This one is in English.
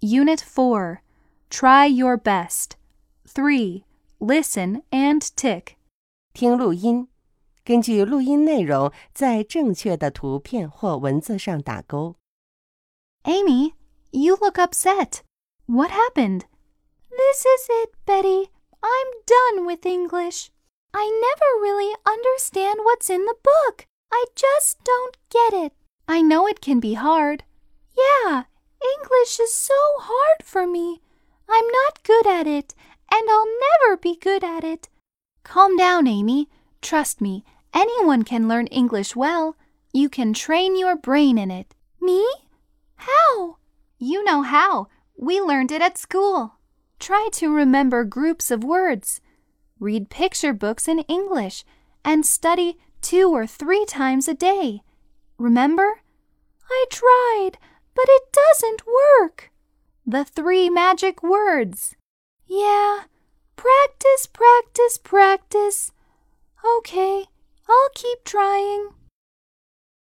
Unit 4. Try your best. 3. Listen and tick. 听录音，根据录音内容，在正确的图片或文字上打勾。 Amy, you look upset. What happened? This is it, Betty. I'm done with English. I never really understand what's in the book. I just don't get it. I know it can be hard. Yeah, English is so hard for me. I'm not good at it, and I'll never be good at it. Calm down, Amy. Trust me, anyone can learn English well. You can train your brain in it. Me? How? You know how. We learned it at school. Try to remember groups of words. Read picture books in English and study 2 or 3 times a day. Remember? I tried, but it doesn't work. The 3 magic words. Yeah, practice, practice, practice. Okay, I'll keep trying.